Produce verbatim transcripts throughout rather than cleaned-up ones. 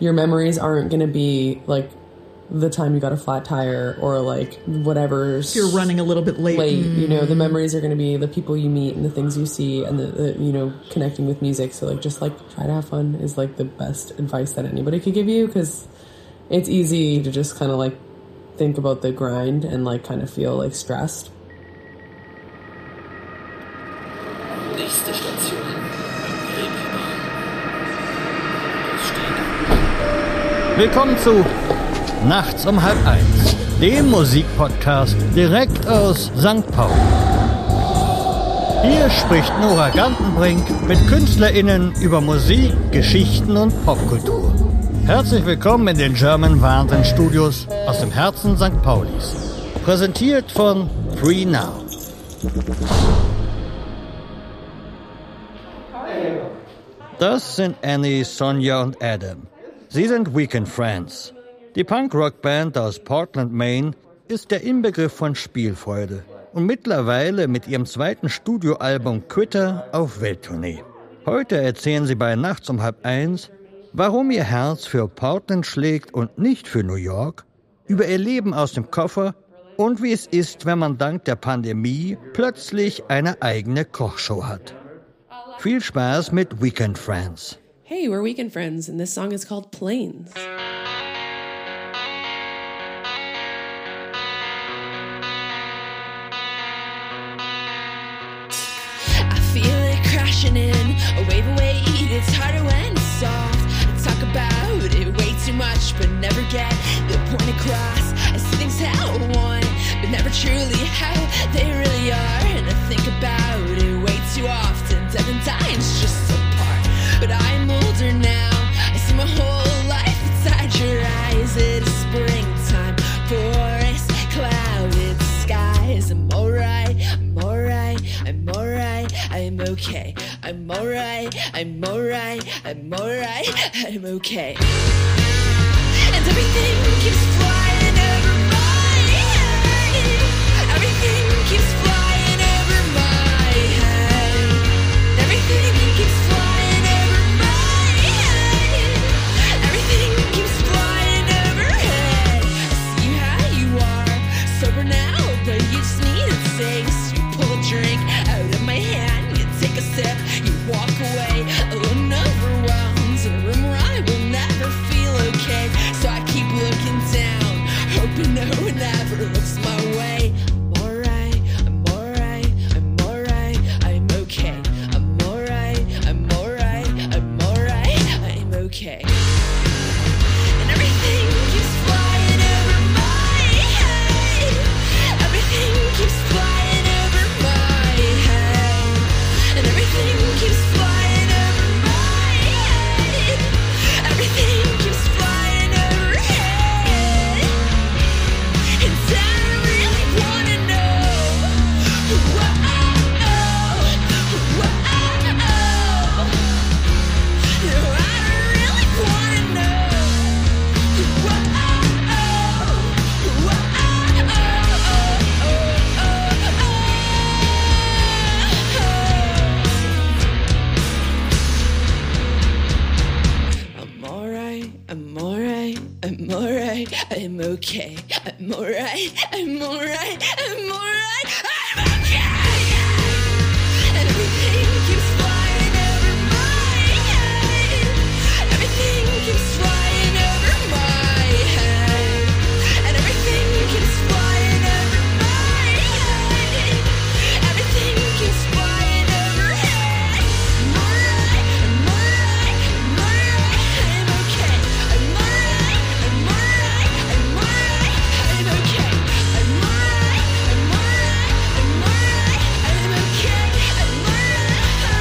your memories aren't going to be like the time you got a flat tire or like whatever's you're running a little bit late. Late, mm. you know, the memories are going to be the people you meet and the things you see and the, the, you know, connecting with music. So like, just like try to have fun is like the best advice that anybody could give you, because it's easy to just kind of like think about the grind and like kind of feel like stressed. Nächste Station. Willkommen zu Nachts um halb eins, dem Musikpodcast direkt aus Sankt Pauli. Hier spricht Nora Gantenbrink mit KünstlerInnen über Musik, Geschichten und Popkultur. Herzlich willkommen in den German Wahnsinn Studios aus dem Herzen Sankt Paulis. Präsentiert von Free Now. Das sind Annie, Sonja und Adam. Sie sind Weekend Friends. Die Punk-Rock-Band aus Portland, Maine ist der Inbegriff von Spielfreude und mittlerweile mit ihrem zweiten Studioalbum Quitter auf Welttournee. Heute erzählen sie bei Nachts um halb eins, warum ihr Herz für Portland schlägt und nicht für New York, über ihr Leben aus dem Koffer und wie es ist, wenn man dank der Pandemie plötzlich eine eigene Kochshow hat. Viel Spaß mit Weekend Friends. Hey, we're Weekend Friends, and this song is called Planes. I feel it crashing in, a wave of weight, it's harder when it's soft. I talk about it way too much, but never get the point across. I see things how I want, but never truly how they really are. And I think about it way too often, death and dying's just a part. But I'm older now, I see my whole life inside your eyes. It is springtime, forest, clouded skies. I'm alright, I'm alright, I'm alright, I'm okay. I'm alright, I'm alright, I'm alright, I'm okay. And everything keeps flying over my head. Everything keeps flying over my head. Everything keeps flying over my head. Everything keeps flying overhead. I see how you are, sober now, but you just need a taste. You pull a drink out of my hand, you take a sip, you walk away, a little overwhelmed, in a room where I will never feel okay. So I keep looking down, hoping no one ever looks my way. I'm alright, I'm alright, I'm alright, I'm okay. I'm alright, I'm alright, I'm alright, I'm okay. And everything keeps flying over my head. Everything keeps flying over my head. And everything keeps flying over my head. Everything keeps flying overhead. And I really wanna know. Whoa, whoa, no, I really wanna know. Whoa, I'm alright, I'm alright, I'm alright, I'm okay. I'm alright, I'm alright, I'm alright, I'm okay. And everything keeps flying over my head. Everything keeps flying over my head. And everything keeps flying over my head. Everything keeps flying overhead. I'm alright, I'm alright, I'm alright, I'm okay. I'm alright, I'm alright, I'm alright, I'm okay. I'm alright, I'm alright, I'm alright, I'm okay. I'm alright.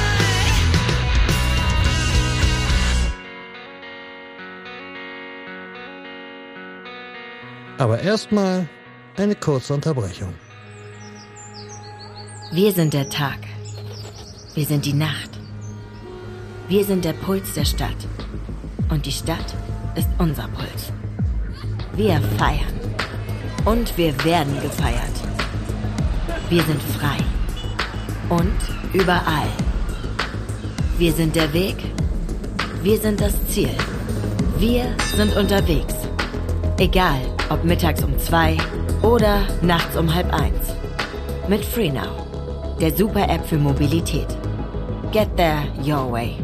Aber erstmal eine kurze Unterbrechung. Wir sind der Tag. Wir sind die Nacht. Wir sind der Puls der Stadt. Und die Stadt ist unser Puls. Wir feiern. Und wir werden gefeiert. Wir sind frei. Und überall. Wir sind der Weg. Wir sind das Ziel. Wir sind unterwegs. Egal, ob mittags um zwei oder nachts um halb eins. Mit FreeNow, der Super-App für Mobilität. Get there your way.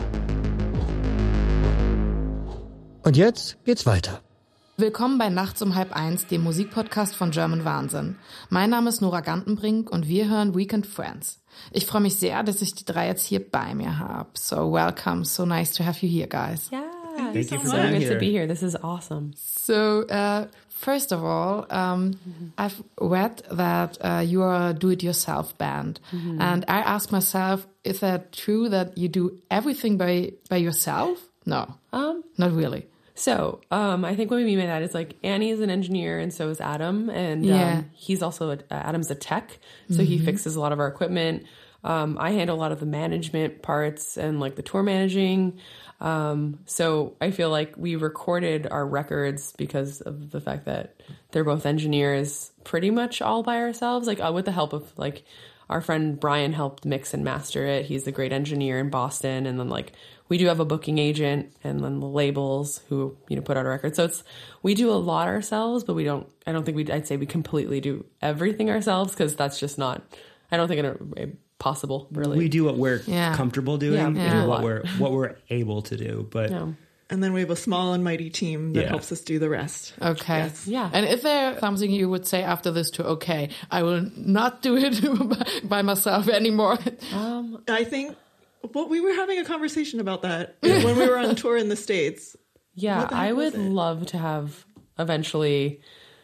Und jetzt geht's weiter. Willkommen bei Nachts um halb eins, dem Musikpodcast von German Wahnsinn. Mein Name ist Nora Gantenbrink und wir hören Weekend Friends. Ich freue mich sehr, dass ich die drei jetzt hier bei mir habe. So welcome, so nice to have you here, guys. Yeah, Thank you for so being good here. to be here. This is awesome. So, uh, first of all, um, mm-hmm. I've read that uh, you are a do-it-yourself band. Mm-hmm. And I asked myself, is that true that you do everything by, by yourself? No, um, not really. So, um, I think what we mean by that is like Annie is an engineer and so is Adam. And yeah. um, he's also, a, uh, Adam's a tech. So mm-hmm. he fixes a lot of our equipment. Um, I handle a lot of the management parts and like the tour managing. Um, so I feel like we recorded our records because of the fact that they're both engineers pretty much all by ourselves, like uh, with the help of like our friend Brian helped mix and master it. He's a great engineer in Boston. And then like we do have a booking agent and then the labels who, you know, put out a record. So it's, we do a lot ourselves, but we don't, I don't think we, I'd say we completely do everything ourselves because that's just not, I don't think it, it possible really. We do what we're yeah. comfortable doing yeah, and yeah. what we're what we're able to do, but yeah. and then we have a small and mighty team that yeah. helps us do the rest. Okay. Yes. Yeah. And is there something you would say after this to okay, I will not do it by myself anymore? Um, I think well, we were having a conversation about that when we were on tour in the States. Yeah, I would it? love to have eventually.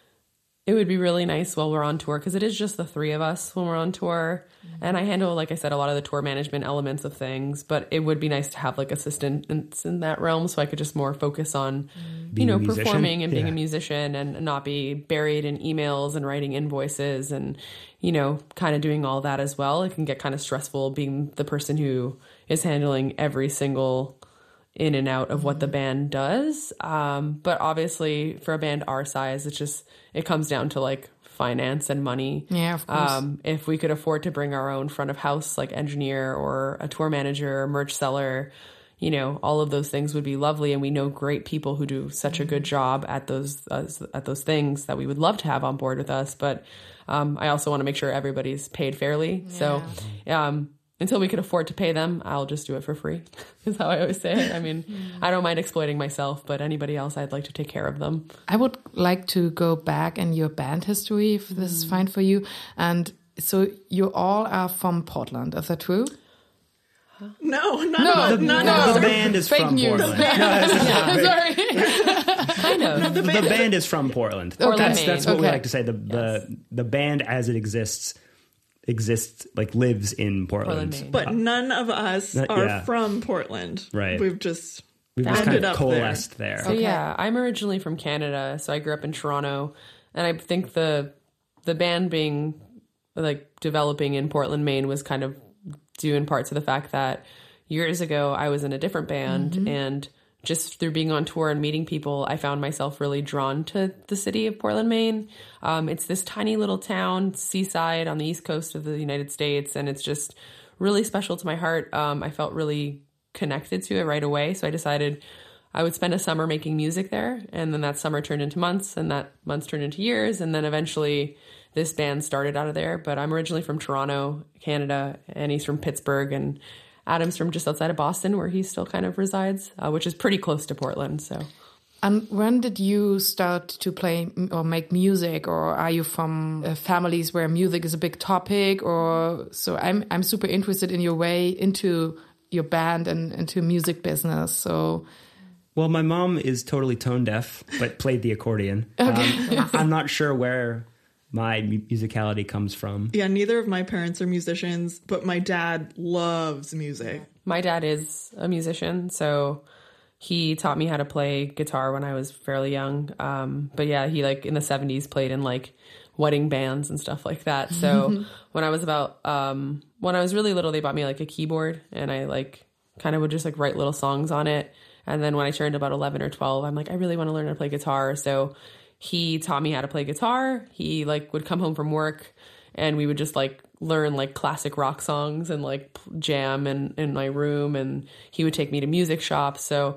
It would be really nice while we're on tour because it is just the three of us when we're on tour. Mm-hmm. And I handle, like I said, a lot of the tour management elements of things. But it would be nice to have like assistants in that realm so I could just more focus on, mm-hmm. you know, performing and being yeah. a musician and not be buried in emails and writing invoices and, you know, kind of doing all that as well. It can get kind of stressful being the person who is handling every single in and out of what the band does. Um, but obviously for a band our size, it's just, it comes down to like finance and money. Yeah, of course. Um, if we could afford to bring our own front of house, like engineer or a tour manager or merch seller, you know, all of those things would be lovely. And we know great people who do such a good job at those, uh, at those things that we would love to have on board with us. But, um, I also want to make sure everybody's paid fairly. Yeah. So, um, until we could afford to pay them, I'll just do it for free, is how I always say it. I mean, I don't mind exploiting myself, but anybody else, I'd like to take care of them. I would like to go back in your band history, if this is fine for you. And so you all are from Portland, is that true? No, none no, of us. The, none no, of us the band is fake from news. Portland. No, yeah, sorry. I know. No, the, the band, band is from Portland. Portland, that's, Maine. that's what okay. we like to say. The the yes. the band as it exists exists like lives in Portland, Portland, Maine. But uh, none of us uh, are yeah. from Portland. Right. We've just we've just kind of up coalesced there. there. So okay. yeah, I'm originally from Canada, so I grew up in Toronto, and I think the the band being like developing in Portland, Maine was kind of due in part to the fact that years ago I was in a different band mm-hmm. and just through being on tour and meeting people, I found myself really drawn to the city of Portland, Maine. Um, it's this tiny little town, seaside on the east coast of the United States, and it's just really special to my heart. Um, I felt really connected to it right away, so I decided I would spend a summer making music there, and then that summer turned into months, and that months turned into years, and then eventually this band started out of there. But I'm originally from Toronto, Canada, and he's from Pittsburgh, and Adam's from just outside of Boston, where he still kind of resides, uh, which is pretty close to Portland. So, and when did you start to play or make music, or are you from uh, families where music is a big topic? Or so I'm I'm super interested in your way into your band and into music business. So, well, my mom is totally tone deaf, but played the accordion. Okay. Um, I'm not sure where my musicality comes from. Yeah, neither of my parents are musicians, but my dad loves music. My dad is a musician, so he taught me how to play guitar when I was fairly young. Um, but yeah, he like in the seventies played in like wedding bands and stuff like that. So when I was about, um, when I was really little, they bought me like a keyboard and I like kind of would just like write little songs on it. And then when I turned about eleven or twelve, I'm like, I really want to learn how to play guitar. So he taught me how to play guitar. He like would come home from work and we would just like learn like classic rock songs and like jam in, in my room. And he would take me to music shops. So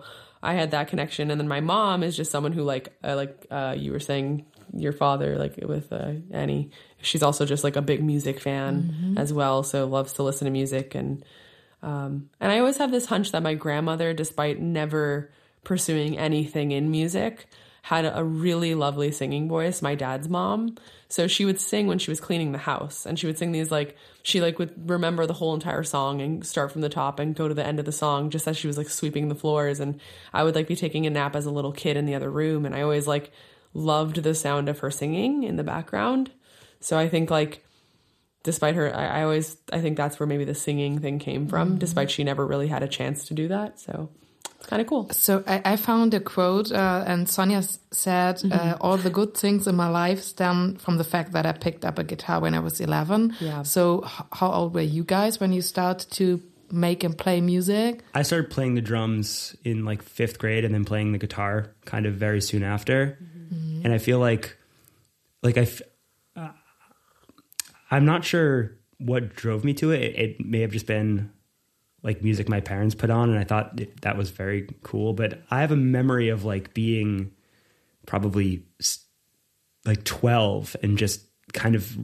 I had that connection. And then my mom is just someone who like, uh, like uh, you were saying, your father, like with uh, Annie, she's also just like a big music fan mm-hmm. as well. So loves to listen to music. And, um, and I always have this hunch that my grandmother, despite never pursuing anything in music, had a really lovely singing voice, my dad's mom. So she would sing when she was cleaning the house, and she would sing these like, she like would remember the whole entire song and start from the top and go to the end of the song just as she was like sweeping the floors. And I would like be taking a nap as a little kid in the other room. And I always like loved the sound of her singing in the background. So I think like, despite her, I, I always, I think that's where maybe the singing thing came from, mm-hmm. despite she never really had a chance to do that. So it's kind of cool. So I, I found a quote, uh, and Sonia said, mm-hmm. uh, all the good things in my life stem from the fact that I picked up a guitar when I was eleven. Yeah. So h- how old were you guys when you started to make and play music? I started playing the drums in like fifth grade and then playing the guitar kind of very soon after. Mm-hmm. And I feel like, like I, f- uh, I'm not sure what drove me to it. it. It may have just been like music my parents put on, and I thought that was very cool. But I have a memory of like being probably like twelve and just kind of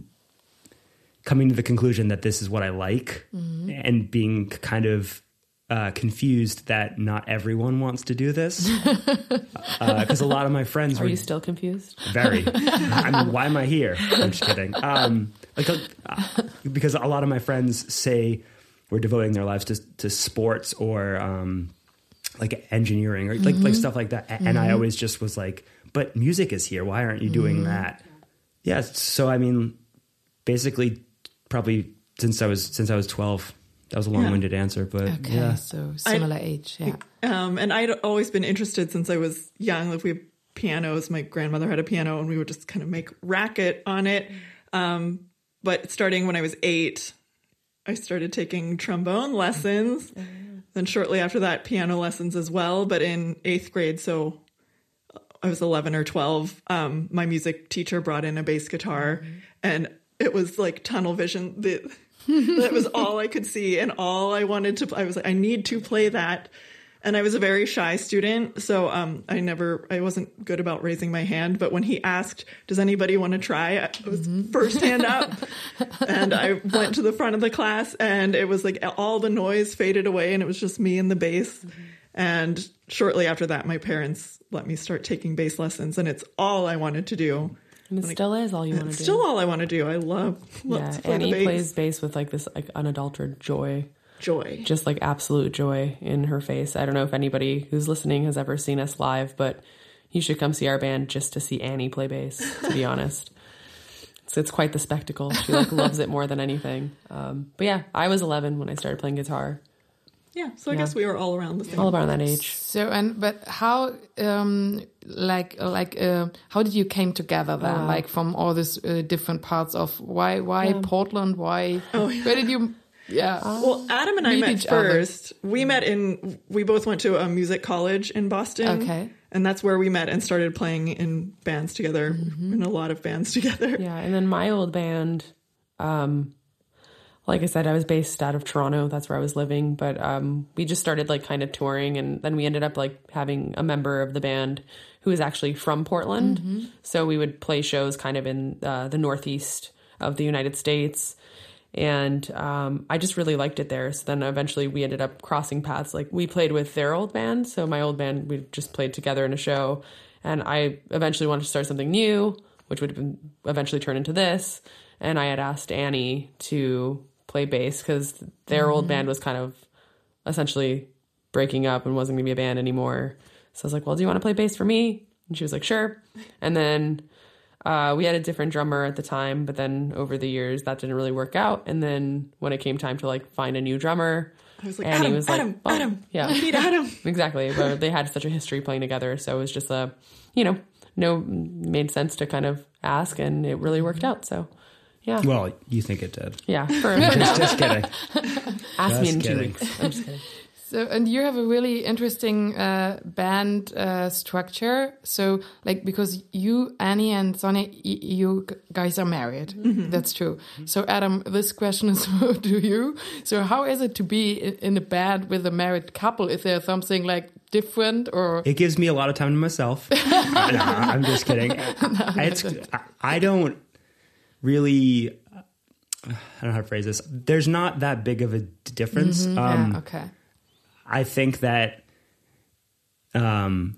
coming to the conclusion that this is what I like, mm-hmm. and being kind of uh, confused that not everyone wants to do this. Because uh, a lot of my friends Are were... you still confused? Very. I mean, why am I here? I'm just kidding. Um, like, uh, because a lot of my friends say were devoting their lives to to sports or um, like engineering or like mm-hmm. like stuff like that. And mm-hmm. I always just was like, but music is here. Why aren't you doing mm-hmm. that? Yeah. So I mean, basically, probably since I was since I was twelve. That was a long-winded yeah. answer, but okay, yeah. So similar I'd, age, yeah. Um, and I'd always been interested since I was young. Like we had pianos. My grandmother had a piano, and we would just kind of make racket on it. Um, but starting when I was eight, I started taking trombone lessons. Mm-hmm. Then shortly after that, piano lessons as well. But in eighth grade, so I was eleven or twelve, um, my music teacher brought in a bass guitar, mm-hmm. and it was like tunnel vision. The, that was all I could see, and all I wanted to I was like, I need to play that. And I was a very shy student, so um, I never, I wasn't good about raising my hand. But when he asked, does anybody want to try? I was mm-hmm. first hand up. And I went to the front of the class, and it was like all the noise faded away, and it was just me and the bass. Mm-hmm. And shortly after that, my parents let me start taking bass lessons, and it's all I wanted to do. And it still is all you want to do. Still all I want to do. I love, love yeah, to play Annie the bass. plays bass with like this like unadulterated joy. Joy. Just like absolute joy in her face. I don't know if anybody who's listening has ever seen us live, but you should come see our band just to see Annie play bass, to be honest. So it's quite the spectacle. She like loves it more than anything. Um, but yeah, I was eleven when I started playing guitar. Yeah, so I yeah. guess we were all around the same. All around that age. So and but how um like like uh, how did you came together then? Uh, like from all these uh, different parts of why why yeah. Portland? Why? Oh, yeah. Where did you? Yeah. Uh, well, Adam and I met first. Other. We met in. We both went to a music college in Boston. Okay. And that's where we met and started playing in bands together, mm-hmm. in a lot of bands together. Yeah, and then my old band. Um, Like I said, I was based out of Toronto. That's where I was living. But um, we just started like kind of touring. And then we ended up like having a member of the band who was actually from Portland. Mm-hmm. So we would play shows kind of in uh, the Northeast of the United States. And um, I just really liked it there. So then eventually we ended up crossing paths. Like we played with their old band. So my old band, we just played together in a show. And I eventually wanted to start something new, which would have been eventually turn into this. And I had asked Annie to play bass because their mm-hmm. old band was kind of essentially breaking up and wasn't going to be a band anymore. So I was like, well, do you want to play bass for me? And she was like, sure. And then uh, we had a different drummer at the time, but then over the years that didn't really work out. And then when it came time to like find a new drummer, I was like, Annie Adam, was Adam, like, oh, Adam, yeah, I need Adam. Exactly. But they had such a history playing together. So it was just a, you know, no, made sense to kind of ask, and it really worked out. So yeah. Well, you think it did. Yeah. For, just, just kidding. Ask just me in kidding. two weeks. I'm just kidding. So, and you have a really interesting uh, band uh, structure. So, like, because you, Annie and Sonia, y- you guys are married. Mm-hmm. That's true. So, Adam, this question is to you. So, how is it to be in a band with a married couple? Is there something like different, or It gives me a lot of time to myself. No, I'm just kidding. I, it's, I, I don't really, I don't know how to phrase this. There's not that big of a difference. Mhm, um, yeah, okay. I think that, um,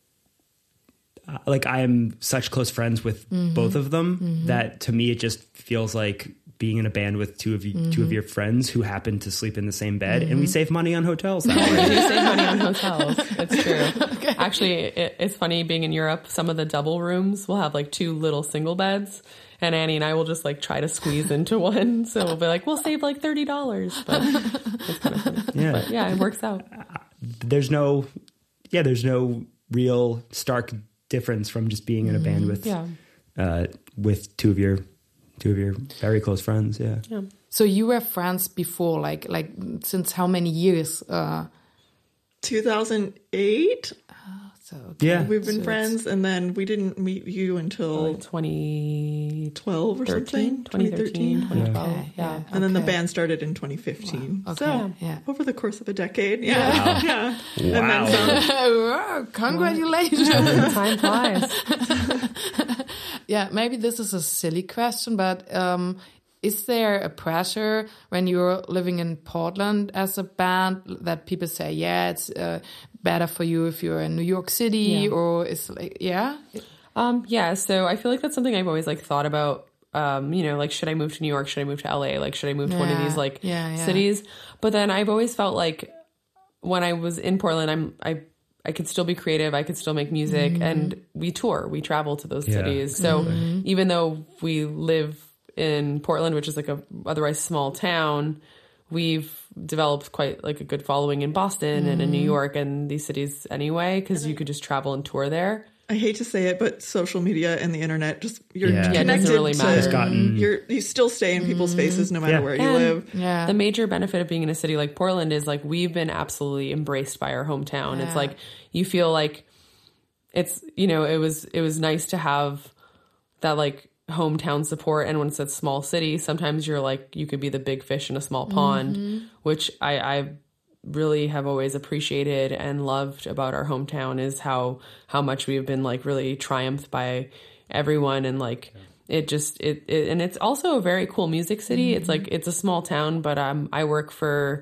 like I am such close friends with Mhm. both of them Mhm. that to me it just feels like being in a band with two of you, two of Mhm. your friends who happen to sleep in the same bed, and we Mhm. save money on hotels that We way. do save money on hotels. It's true. Actually, it, it's funny being in Europe. Some of the double rooms will have like two little single beds, and Annie and I will just like try to squeeze into one. So we'll be like, we'll save like thirty dollars. But it's kind of funny. Yeah. But yeah, it works out. There's no, yeah, there's no real stark difference from just being in a band with, Yeah. uh, with two of your, two of your very close friends. Yeah. Yeah. So you were friends before, like like since how many years? Uh, two thousand eight. so Yeah. We've been So friends, and then we didn't meet you until Like twenty twelve or something. twenty thirteen, twenty twelve. Okay, Yeah. yeah. And then the Okay. band started in twenty fifteen. Okay, So yeah. over the course of a decade. Yeah. Yeah. And then Wow. some. Wow, congratulations. Time flies. Yeah, maybe this is a silly question, but um, is there a pressure when you're living in Portland as a band that people say, yeah, it's uh, better for you if you're in New York City, Yeah. or is like, yeah? Um, yeah, so I feel like that's something I've always like thought about. Um, you know, like should I move to New York? Should I move to L A? Like should I move to one of Yeah, these like yeah, yeah. cities? But then I've always felt like when I was in Portland, I'm I I could still be creative. I could still make music, Mm-hmm. and we tour. We travel to those Yeah. cities. So Mm-hmm. even though we live in Portland, which is like a otherwise small town, we've developed quite like a good following in Boston and in New York and these cities anyway, because you could just travel and tour there. I hate to say it, but social media and the internet just you're Yeah. Yeah, it doesn't connected really to- matter. It's gotten- you're you still stay in people's faces no matter Yeah. where you And live. Yeah. The major benefit of being in a city like Portland is like we've been absolutely embraced by our hometown. It's Yeah. like you feel like it's, you know, it was it was nice to have that like hometown support. And when it's a small city, sometimes you're like you could be the big fish in a small pond, which I I really have always appreciated and loved about our hometown is how how much we've been like really triumphed by everyone, and like it just it, it and it's also a very cool music city. It's like it's a small town, but um I work for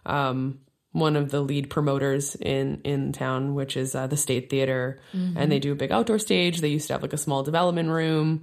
um one of the lead promoters in in town, which is uh, the State Theater, and they do a big outdoor stage. They used to have like a small development room,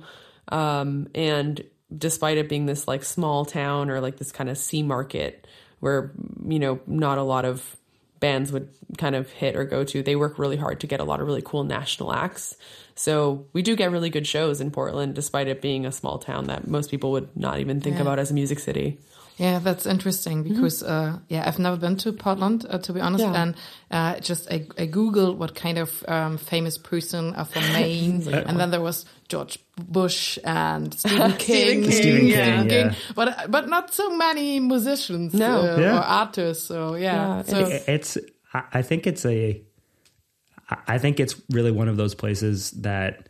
um and despite it being this like small town or like this kind of sea market where, you know, not a lot of bands would kind of hit or go to, they work really hard to get a lot of really cool national acts. So we do get really good shows in Portland, despite it being a small town that most people would not even think Yeah. about as a music city. Yeah, that's interesting because uh, yeah, I've never been to Portland uh, to be honest, Yeah. and uh, just I, I googled what kind of um, famous person are from Maine, and then there was George Bush and Stephen King, King, Stephen yeah. King, yeah. but but not so many musicians No. uh, Yeah. or artists. So yeah, Yeah, so It- it's I I think it's a I I think it's really one of those places that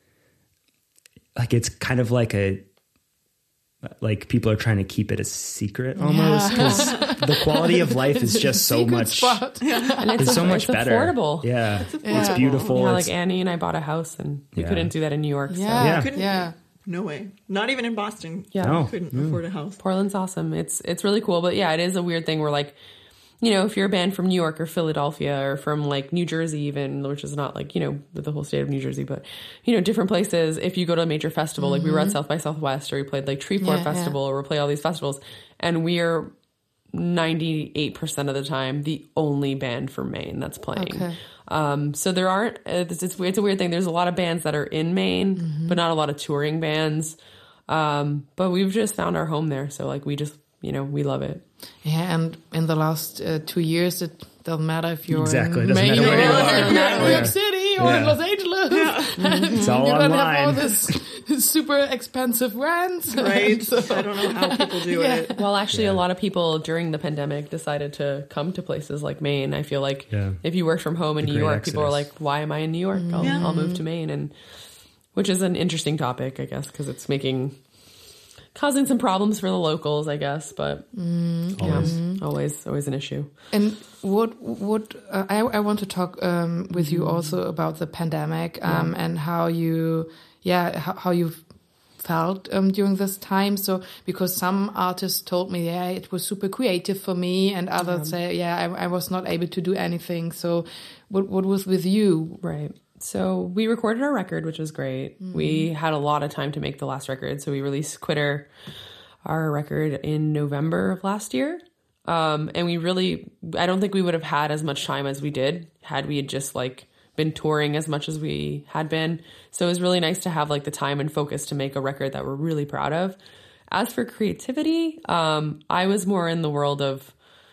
like it's kind of like a like people are trying to keep it a secret almost because the quality of life is just so secret much spot. And it's, it's so aff- much it's better. affordable. Yeah, Yeah. it's beautiful. Yeah, It's- like Annie and I bought a house, and we Yeah. couldn't do that in New York. So. yeah, Yeah. Couldn't- yeah. No way. Not even in Boston. Yeah. No. Couldn't afford a house. Portland's awesome. It's it's really cool, but yeah, it is a weird thing where like, you know, if you're a band from New York or Philadelphia or from like New Jersey even, which is not like, you know, the whole state of New Jersey, but you know, different places, if you go to a major festival, like we were at South by Southwest, or we played like Treefort Yeah, Festival, or we play all these festivals, and we're ninety-eight percent of the time the only band from Maine that's playing. Okay. Um, so there aren't, uh, it's, it's, it's a weird thing. There's a lot of bands that are in Maine, but not a lot of touring bands. Um, but we've just found our home there. So like, we just, you know, we love it. Yeah, and in the last uh, two years, it doesn't matter if you're Exactly, in it doesn't Maine matter or where you are. if you're in Yeah. New York City or in Yeah. Los Angeles. it's all You don't have all online. this super expensive rents. Right? So- I don't know how people do Yeah. it. Well, actually, Yeah. a lot of people during the pandemic decided to come to places like Maine. I feel like Yeah. if you work from home in The New great York, people are exodus. like, why am I in New York? I'll, I'll move to Maine. And which is an interesting topic, I guess, because it's making causing some problems for the locals, I guess. But Mm, Always. yeah, always, always an issue. And what what uh, I I want to talk um, with you also about the pandemic um, and how you yeah how, how you felt um, during this time. So because some artists told me yeah it was super creative for me, and others say yeah I, I was not able to do anything. So what what was with you? Right. So we recorded our record, which was great. Mm-hmm. We had a lot of time to make the last record. So we released Quitter, our record, in November of last year. Um, and we really, I don't think we would have had as much time as we did had we had just like been touring as much as we had been. So it was really nice to have like the time and focus to make a record that we're really proud of. As for creativity, um, I was more in the world of,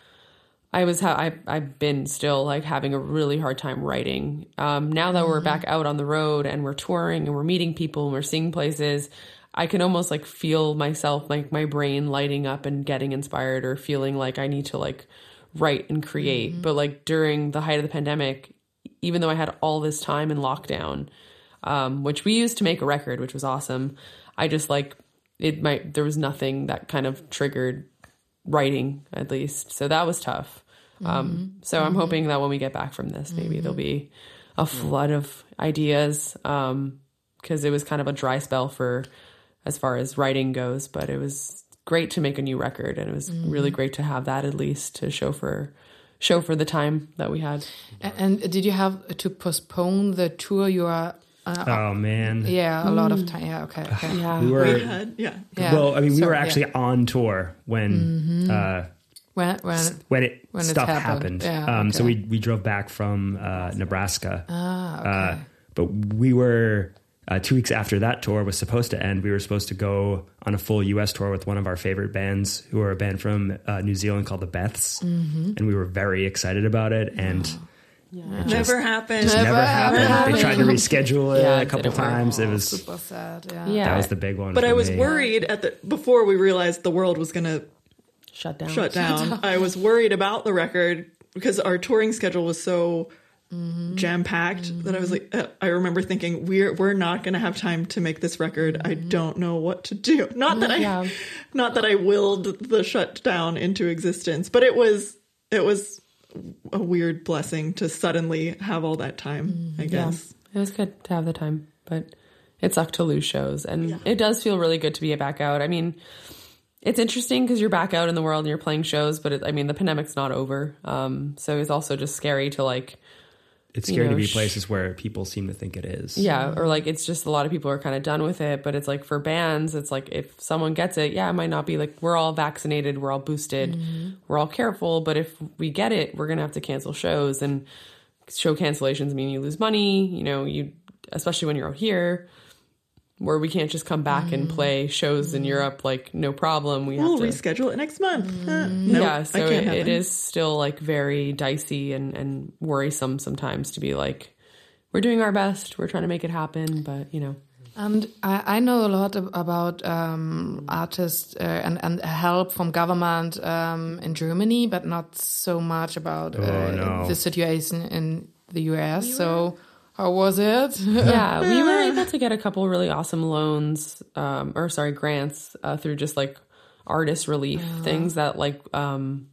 I was, ha- I, I've been still like having a really hard time writing. Um, now that mm-hmm. we're back out on the road and we're touring and we're meeting people and we're seeing places, I can almost like feel myself, like my brain lighting up and getting inspired or feeling like I need to like write and create. Mm-hmm. But like during the height of the pandemic, even though I had all this time in lockdown, um, which we used to make a record, which was awesome, I just like it might, there was nothing that kind of triggered writing at least. So that was tough. Um, mm-hmm. So I'm mm-hmm. hoping that when we get back from this, maybe mm-hmm. there'll be a flood of ideas. Um, cause it was kind of a dry spell for, as far as writing goes, but it was great to make a new record. And it was mm-hmm. really great to have that at least to show for, show for the time that we had. And, and did you have to postpone the tour you are, Uh, oh man! Yeah, a lot of time. Yeah, okay. okay. Yeah, we were. We had, yeah. yeah. Well, I mean, we Sorry, were actually yeah. on tour when mm-hmm. uh, when when when it when stuff it happened. happened. Yeah, um, okay. So we we drove back from uh, Nebraska. Ah, okay. Uh, but we were uh, two weeks after that tour was supposed to end. We were supposed to go on a full U S tour with one of our favorite bands, who are a band from uh, New Zealand called the Beths, mm-hmm. and we were very excited about it. And oh. Yeah. Just, never happened. Just never, never happened. happened. They tried to reschedule it yeah, a couple times. It was super sad. Yeah. yeah, that was the big one. But for I was me. worried at the before we realized the world was going to shut down. Shut down. Shut down. I was worried about the record because our touring schedule was so mm-hmm. jam packed mm-hmm. that I was like, uh, I remember thinking we're we're not going to have time to make this record. Mm-hmm. I don't know what to do. Not that I, yeah. not that I willed the shutdown into existence, but it was it was. a weird blessing to suddenly have all that time, mm, I guess. Yeah, it was good to have the time, but it sucked to lose shows. And yeah. it does feel really good to be back out. I mean, it's interesting because you're back out in the world and you're playing shows, but it, I mean, the pandemic's not over. Um, so it's also just scary to like... It's scary you know, to be sh- places where people seem to think it is. Yeah, or like it's just a lot of people are kind of done with it, but it's like for bands, it's like if someone gets it, yeah, it might not be like we're all vaccinated, we're all boosted, mm-hmm. we're all careful, but if we get it, we're going to have to cancel shows, and show cancellations mean you lose money, you know, you especially when you're out here where we can't just come back mm-hmm. and play shows mm-hmm. in Europe like no problem. We we'll have to reschedule it next month. Mm-hmm. Uh, nope, yeah, so it, it is still like very dicey and, and worrisome sometimes to be like, we're doing our best, we're trying to make it happen, but you know. And I, I know a lot of, about um, artists uh, and, and help from government um, in Germany, but not so much about uh, oh, no. the situation in the U S. So how was it? Yeah, we were able to get a couple really awesome loans, um, or sorry, grants uh, through just like artist relief uh-huh. things that like um,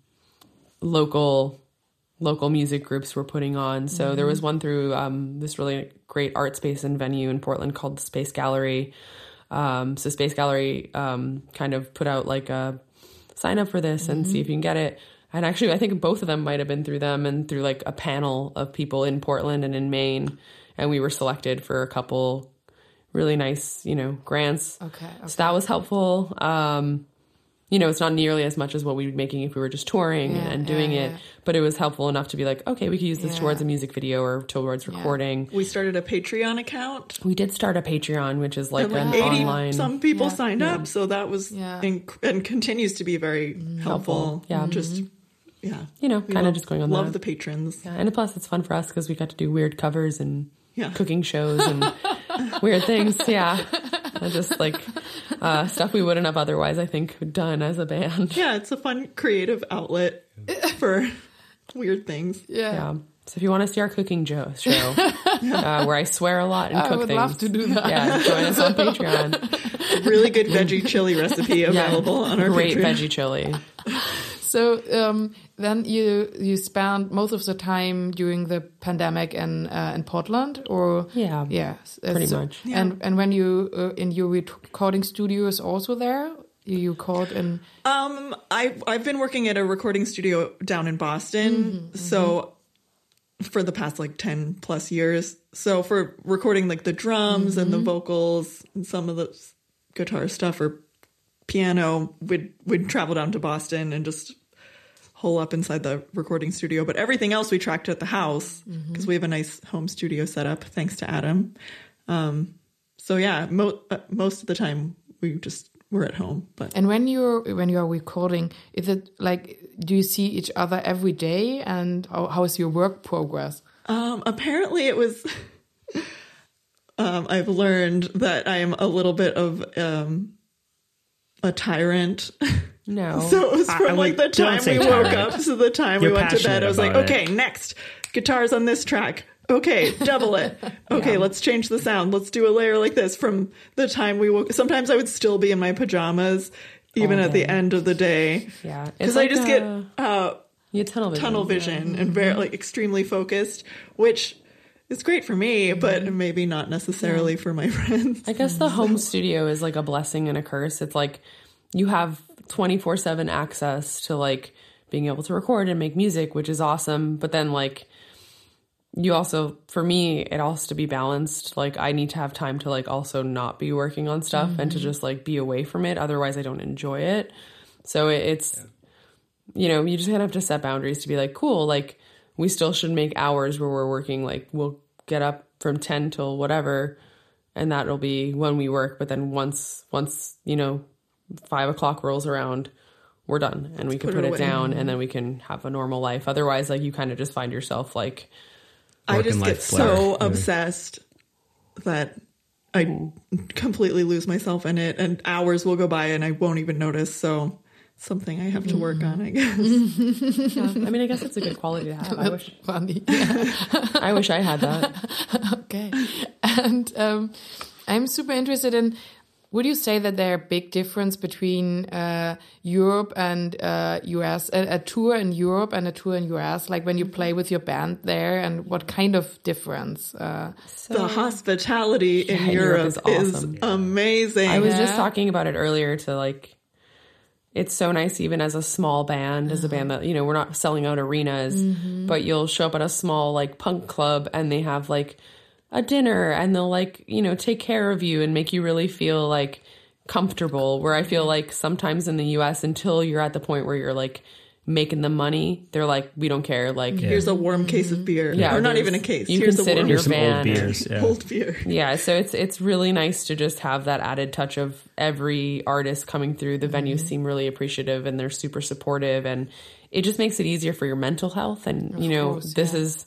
local local music groups were putting on. So mm-hmm. there was one through um, this really great art space and venue in Portland called the Space Gallery. Um, so Space Gallery um, kind of put out like a sign up for this mm-hmm. and see if you can get it. And actually, I think both of them might have been through them and through like a panel of people in Portland and in Maine. And we were selected for a couple really nice, you know, grants. Okay. okay. So that was helpful. Um, you know, it's not nearly as much as what we would be making if we were just touring yeah, and doing yeah, it. Yeah. But it was helpful enough to be like, okay, we could use this yeah. towards a music video or towards recording. We started a Patreon account. We did start a Patreon, which is like, like an eighty online. Some people yeah. signed yeah. up. So that was yeah. inc- and continues to be very mm-hmm. helpful. helpful. Yeah. Just... Mm-hmm. Yeah, you know, kind of just going on love that. the patrons. Yeah, and plus it's fun for us because we got to do weird covers and yeah. cooking shows and weird things. Yeah, and just like uh, stuff we wouldn't have otherwise, I think, done as a band. Yeah, it's a fun creative outlet for weird things. Yeah. yeah. So if you want to see our cooking jo- show, uh, where I swear a lot and I cook would things. love to do that. Yeah, join us on Patreon. Really good veggie chili recipe available on our Great Patreon. veggie chili. So um, then you you spent most of the time during the pandemic in uh, in Portland, or Yeah, yeah, uh, pretty so- much. And and when you uh, in your recording studio is also there, you called in. Um, I I've been working at a recording studio down in Boston, Mm-hmm, so for the past like ten plus years. So for recording like the drums and the Mm-hmm. vocals and some of the s- guitar stuff or piano, we'd we'd travel down to Boston and just hole up inside the recording studio. But everything else we tracked at the house because Mm-hmm. we have a nice home studio set up thanks to Adam. Um, so yeah, mo- uh, most of the time we just were at home, but. And when you're when you are recording, is it like do you see each other every day? And how, how is your work progress? Um, apparently it was, um, I've learned that I am a little bit of, um, a tyrant. No. So it was I- from I like would- the don't time say we woke tyrant. up to the time You're we went to bed. passionate I was like, about it. okay, next guitars on this track. Okay, double it. Okay, let's change the sound. Let's do a layer like this. From the time we woke, sometimes I would still be in my pajamas, even All at the day. end of the day. Yeah, Because It's I like just a- get uh, You tunnel vision. tunnel vision and very like extremely focused, which is great for me, but maybe not necessarily for my friends. I guess the home studio is like a blessing and a curse. It's like you have twenty-four seven access to like being able to record and make music, which is awesome. But then like you also, for me, it has to be balanced. Like I need to have time to like also not be working on stuff and to just like be away from it. Otherwise I don't enjoy it. So it, it's, you know, you just kind of have to set boundaries to be like, cool, like we still should make hours where we're working. Like we'll get up from ten till whatever, and that'll be when we work. But then once, once, you know, five o'clock rolls around, we're done and we can put put it it away. down and then we can have a normal life. Otherwise, like you kind of just find yourself like, I Work just and get life so blur. Yeah. obsessed that I completely lose myself in it, and hours will go by and I won't even notice. So something I have to work on, I guess. I mean, I guess it's a good quality to have. I wish, Funny. Yeah. I wish I had that. Okay. And um, I'm super interested in, would you say that there are big difference between uh, Europe and uh, U S, a, a tour in Europe and a tour in U S, like when you play with your band there, and what kind of difference? Uh, The hospitality in Yeah, Europe Europe, is is, awesome. amazing. I was just Yeah. talking about it earlier to like, it's so nice even as a small band, as a band that, you know, we're not selling out arenas, but you'll show up at a small like punk club and they have like a dinner and they'll like, you know, take care of you and make you really feel like comfortable. Where I feel like sometimes in the U S, until you're at the point where you're like making the money, they're like, we don't care. Like, Here's a warm case of beer. Yeah, or not there's- even a case. you Here's can a sit in warm your Here's some van. old beers. Yeah. cold beer. yeah, so it's it's really nice to just have that added touch of every artist coming through. The venues seem really appreciative and they're super supportive, and it just makes it easier for your mental health. And you know, course, this yeah. is,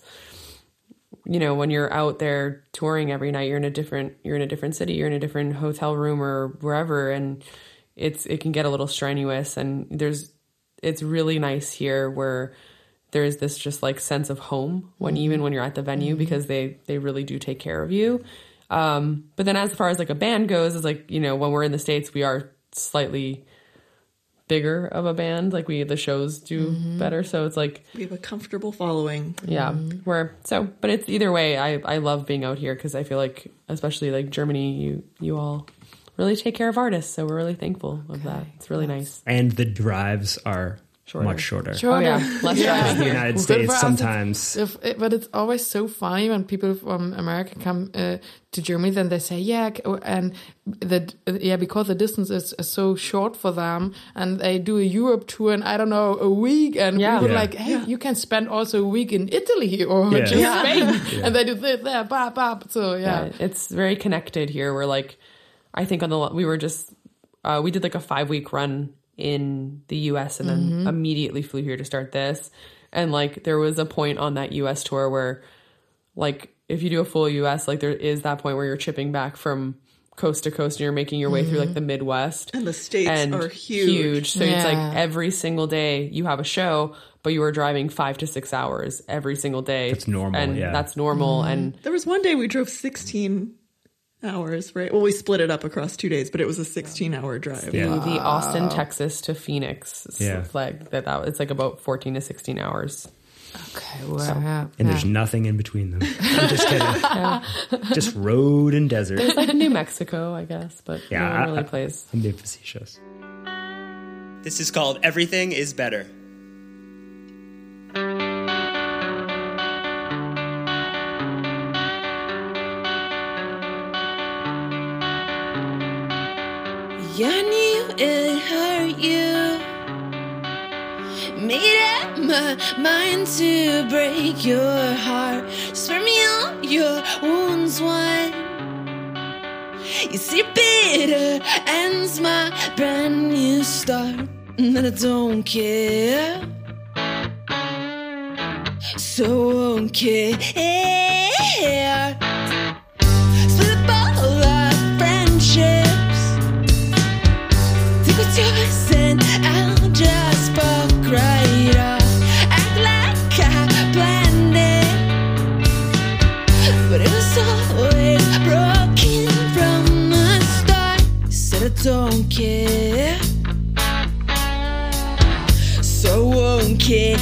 you know, when you're out there touring every night, you're in a different you're in a different city, you're in a different hotel room or wherever, and it's it can get a little strenuous. And there's it's really nice here where there's this just like sense of home when even when you're at the venue, because they they really do take care of you. Um, but then as far as like a band goes, is like, you know, when we're in the States, we are slightly bigger of a band. Like we the shows do better, so it's like We have a comfortable following. yeah, we're so. But it's either way. I I love being out here because I feel like, especially like Germany, you you all really take care of artists, so we're really thankful of that. It's really nice. And the drives are Shorter. much shorter. Sure. Oh yeah, less driving In the here. United But for States, us, sometimes. If, it- but it's always so funny when people from America come uh, to Germany, then they say, yeah, c- and the yeah, because the distance is, is so short for them, and they do a Europe tour in, I don't know, a week, and Yeah. we were Yeah. like, hey, you can spend also a week in Italy or Yeah. just Yeah. Spain, and they do this there, blah, blah. So yeah, Yeah, it's very connected here. We're like, I think on the we were just uh, we did like a five week run in the U S and then immediately flew here to start this. And like there was a point on that U S tour where like if you do a full U S, like there is that point where you're chipping back from coast to coast and you're making your way Mm-hmm. through like the Midwest. And the states and are huge. So it's Yeah. like every single day you have a show, but you are driving five to six hours every single day. That's normal, And yeah. that's normal. Mm-hmm. And There was one day we drove sixteen hours, right? Well, we split it up across two days, but it was a sixteen hour drive. the, the Austin, Texas to Phoenix Yeah. flag that, that it's like about fourteen to sixteen hours. Okay, well, yeah, And yeah. there's nothing in between them. I'm just kidding. Just road and desert. It's like New Mexico, I guess, but Yeah, no one I- really I- plays. I'm being facetious. This is called Everything is Better. You knew it hurt you. Made up my mind to break your heart. Spare me all your wounds, one. You see, bitter ends my brand new start. And I don't care. So won't care. Split up all our friendships. Take what's yours and I'll just fuck right off. Act like I planned it, but it was always broken from the start. Said I don't care, so won't care.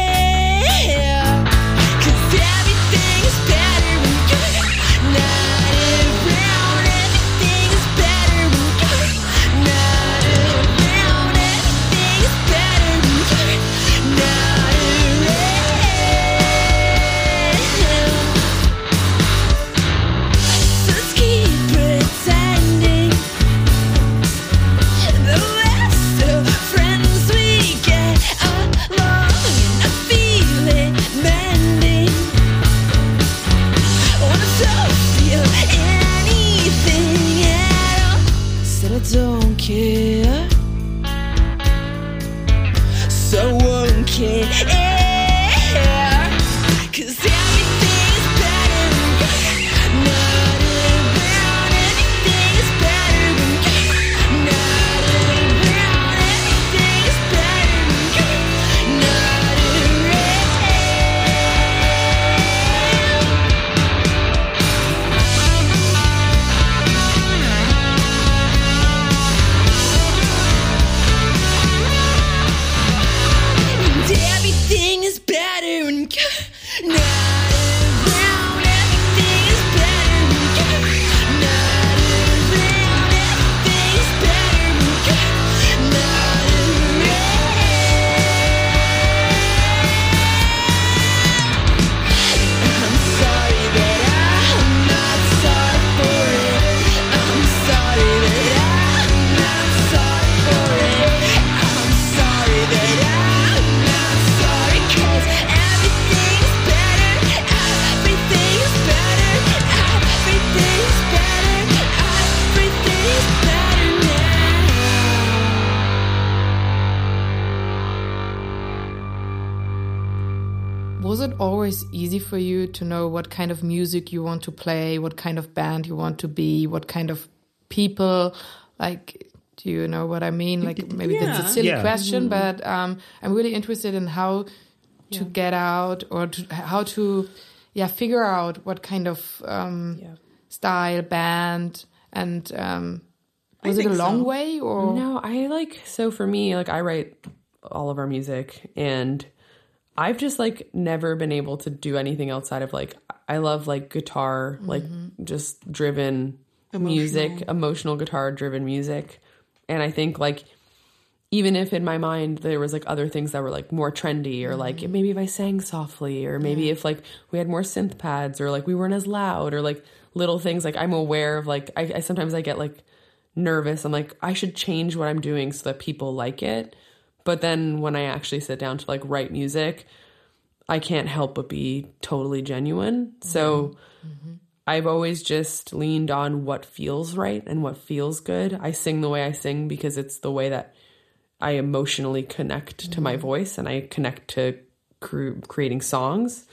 'Cause everything is better when you're not around. Everything is better when you're not around. Everything is better when you're not around. So let's keep pretending the best of friends we get along, and I feel it mending. When I don't feel anything at all, said I don't care, so won't care. 'Cause everything is better when you're not around. Everything is better when you're not around. Everything is better when you're not around. Everything is better when you're not around. Everything is better when you're not around. Everything is better when you're not around. I'm sorry that I'm not sorry for it. I'm sorry that I'm not sorry for it. I'm sorry that I'm not sorry, 'cause everything is better. Everything is better. Everything is better. Everything is better now. Was it always easy for you to know what kind of music you want to play, what kind of band you want to be, what kind of people? Like, do you know what I mean? Like, maybe that's a Yeah. silly Yeah. question, but um, I'm really interested in how to get out or to, how to, yeah, figure out what kind of um, Yeah. style, band, and um, I was it a think long so. way or? No, I like, so for me, like I write all of our music and I've just like never been able to do anything outside of like, I love like guitar, like just driven music, emotional guitar driven music. And I think like, even if in my mind there was like other things that were like more trendy or like maybe if I sang softly or maybe if like we had more synth pads or like we weren't as loud or like little things, like I'm aware of like, I, I sometimes I get like nervous. I'm like, I should change what I'm doing so that people like it. But then when I actually sit down to like write music, I can't help but be totally genuine. So I've always just leaned on what feels right and what feels good. I sing the way I sing because it's the way that I emotionally connect to my voice and I connect to cre- creating songs.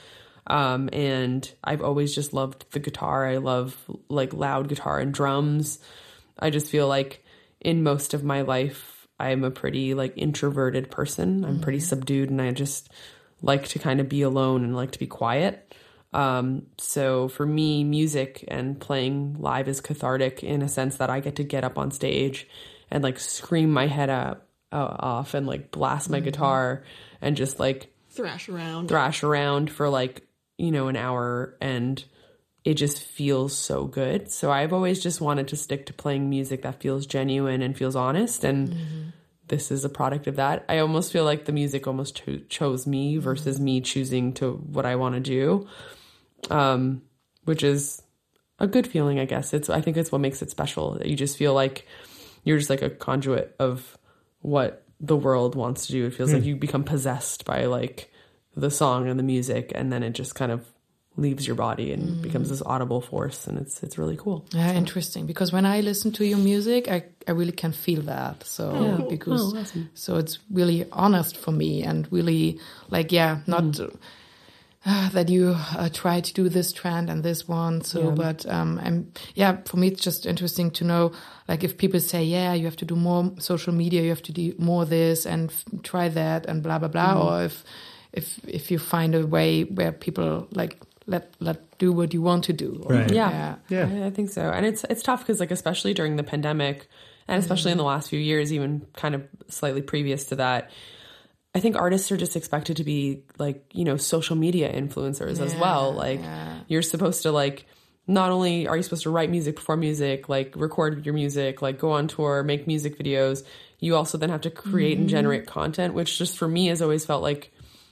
Um, and I've always just loved the guitar. I love like loud guitar and drums. I just feel like in most of my life, I'm a pretty like introverted person. I'm pretty subdued, and I just like to kind of be alone and like to be quiet. Um, so for me, music and playing live is cathartic in a sense that I get to get up on stage and like scream my head up, uh, off and like blast my mm-hmm. guitar and just like thrash around, thrash around for like, you know, an hour, and it just feels so good. So I've always just wanted to stick to playing music that feels genuine and feels honest. And mm-hmm. this is a product of that. I almost feel like the music almost cho- chose me versus mm-hmm. me choosing to what I want to do. Um, which is a good feeling, I guess. It's, I think it's what makes it special. You just feel like you're just like a conduit of what the world wants to do. It feels mm. like you become possessed by like the song and the music, and then it just kind of leaves your body and mm. becomes this audible force, and it's it's really cool. Yeah, so. Interesting. Because when I listen to your music, I, I really can feel that. So oh, cool. because oh, awesome. So it's really honest for me, and really like yeah, not mm. uh, that you uh, try to do this trend and this one. So, yeah. but um, I'm yeah, for me it's just interesting to know, like if people say yeah, you have to do more social media, you have to do more this and f- try that and blah blah blah, mm. or if if if you find a way where people like. Let let do what you want to do. Right. Yeah, yeah, yeah. I, I think so. And it's it's tough because like especially during the pandemic, and especially mm-hmm. in the last few years, even kind of slightly previous to that, I think artists are just expected to be like, you know, social media influencers yeah, as well. Like yeah. you're supposed to like, not only are you supposed to write music, perform music, like record your music, like go on tour, make music videos, you also then have to create mm-hmm. and generate content, which just for me has always felt like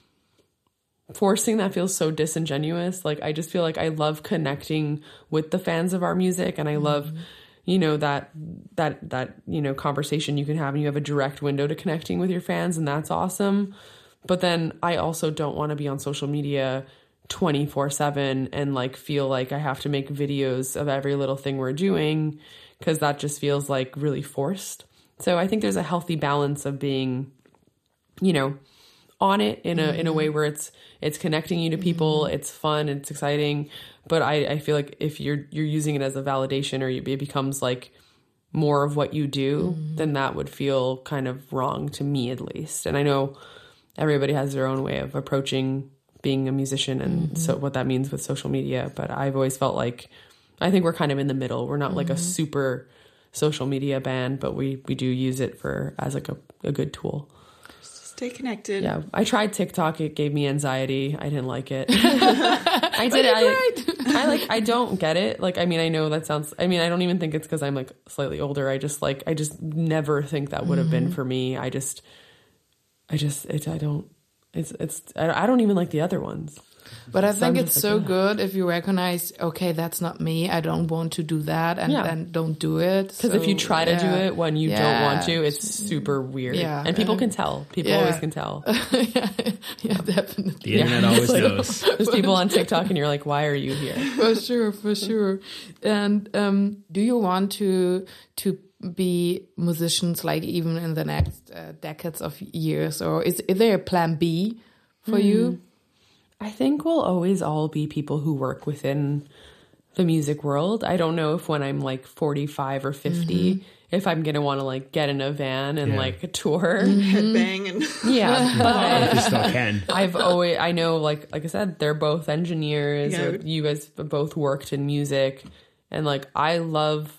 forcing that feels so disingenuous. Like I just feel like I love connecting with the fans of our music, and I love mm-hmm. you know that that that you know conversation you can have, and you have a direct window to connecting with your fans, and that's awesome. But then I also don't want to be on social media twenty-four seven and like feel like I have to make videos of every little thing we're doing, because that just feels like really forced. So I think there's a healthy balance of being, you know, on it in a mm-hmm. in a way where it's it's connecting you to people, mm-hmm. it's fun, it's exciting, but I, I feel like if you're you're using it as a validation, or it becomes like more of what you do, mm-hmm. then that would feel kind of wrong to me, at least. And I know everybody has their own way of approaching being a musician, and mm-hmm. so what that means with social media. But I've always felt like I think we're kind of in the middle. We're not mm-hmm. like a super social media band, but we we do use it for as like a, a good tool. Stay connected. Yeah, I tried TikTok. It gave me anxiety. I didn't like it. I did. I, right. I like. I don't get it. Like, I mean, I know that sounds. I mean, I don't even think it's because I'm like slightly older. I just like. I just never think that would have mm-hmm. been for me. I just. I just. It. I don't. It's. It's. I don't even like the other ones. But I so think it's like, so yeah. good if you recognize, okay, that's not me. I don't want to do that, and yeah. then don't do it. Because so, if you try to yeah. do it when you yeah. don't want to, it's super weird. Yeah. And people can tell. People yeah. always can tell. yeah. yeah, definitely. The internet yeah. always like, knows. There's people on TikTok, and you're like, why are you here? For sure, for sure. And um, do you want to to be musicians, like even in the next uh, decades of years, or is, is there a plan B for mm. you? I think we'll always all be people who work within the music world. I don't know if when I'm like forty-five or fifty, mm-hmm. if I'm going to want to like get in a van and yeah. like tour. Mm-hmm. Headbang. And yeah. But you still can. I've always, I know, like, like I said, they're both engineers. Yeah. Or you guys both worked in music. And like, I love,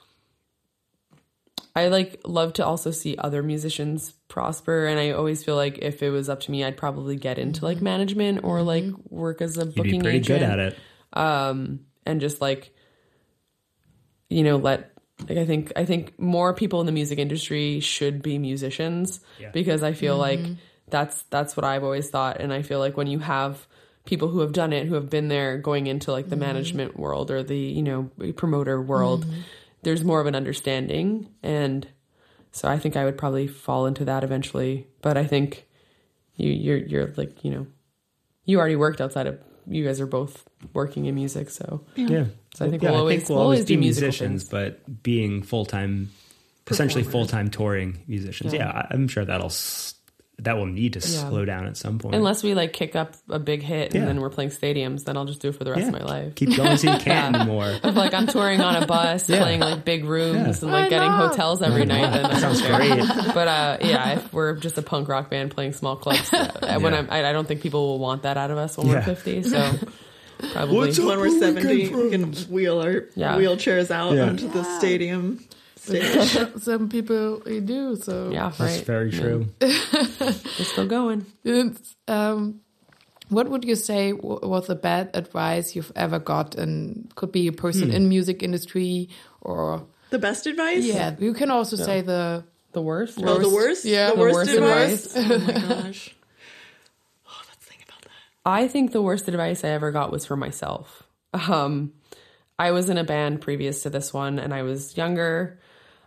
I like love to also see other musicians prosper, and I always feel like if it was up to me, I'd probably get into like management or like work as a You'd booking be pretty agent. good at it, um, and just like you know, let like I think I think more people in the music industry should be musicians yeah. because I feel mm-hmm. like that's that's what I've always thought, and I feel like when you have people who have done it, who have been there, going into like the mm-hmm. management world or the you know promoter world. Mm-hmm. There's more of an understanding, and so I think I would probably fall into that eventually. But I think you, you're you're like you know, you already worked outside of. You guys are both working in music, so yeah. So I think yeah, we'll I always think we'll we'll always always be do musicians, things. but being full time, essentially full time touring musicians. Yeah. yeah, I'm sure that'll that will need to Yeah. slow down at some point. Unless we like kick up a big hit and Yeah. then we're playing stadiums, then I'll just do it for the rest yeah. of my life. Keep going so you can't anymore. If like I'm touring on a bus, Yeah. playing like big rooms Yeah. and like Why getting not? hotels every night, then that Sounds great. But uh, yeah, if we're just a punk rock band playing small clubs, uh, when Yeah. I'm, I, I don't think people will want that out of us when Yeah. we're fifty. So probably. What's up? When we're seventy, we can wheel our Yeah. wheelchairs out Yeah. onto the stadium stage. Some people do, so Yeah, That's right. very true. We're still going. It's, um, what would you say w- was the bad advice you've ever got? And could be a person Hmm. in music industry or The best advice? yeah. You can also say the The worst. Oh, the worst? Yeah. The The worst, worst advice? Oh my gosh. Oh, let's think about that. I think the worst advice I ever got was for myself. Um, I was in a band previous to this one, and I was younger.